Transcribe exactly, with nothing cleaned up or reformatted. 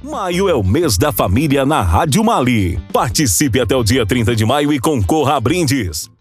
Maio é o mês da família na Rádio Mali. Participe até o dia trinta de maio e concorra a brindes.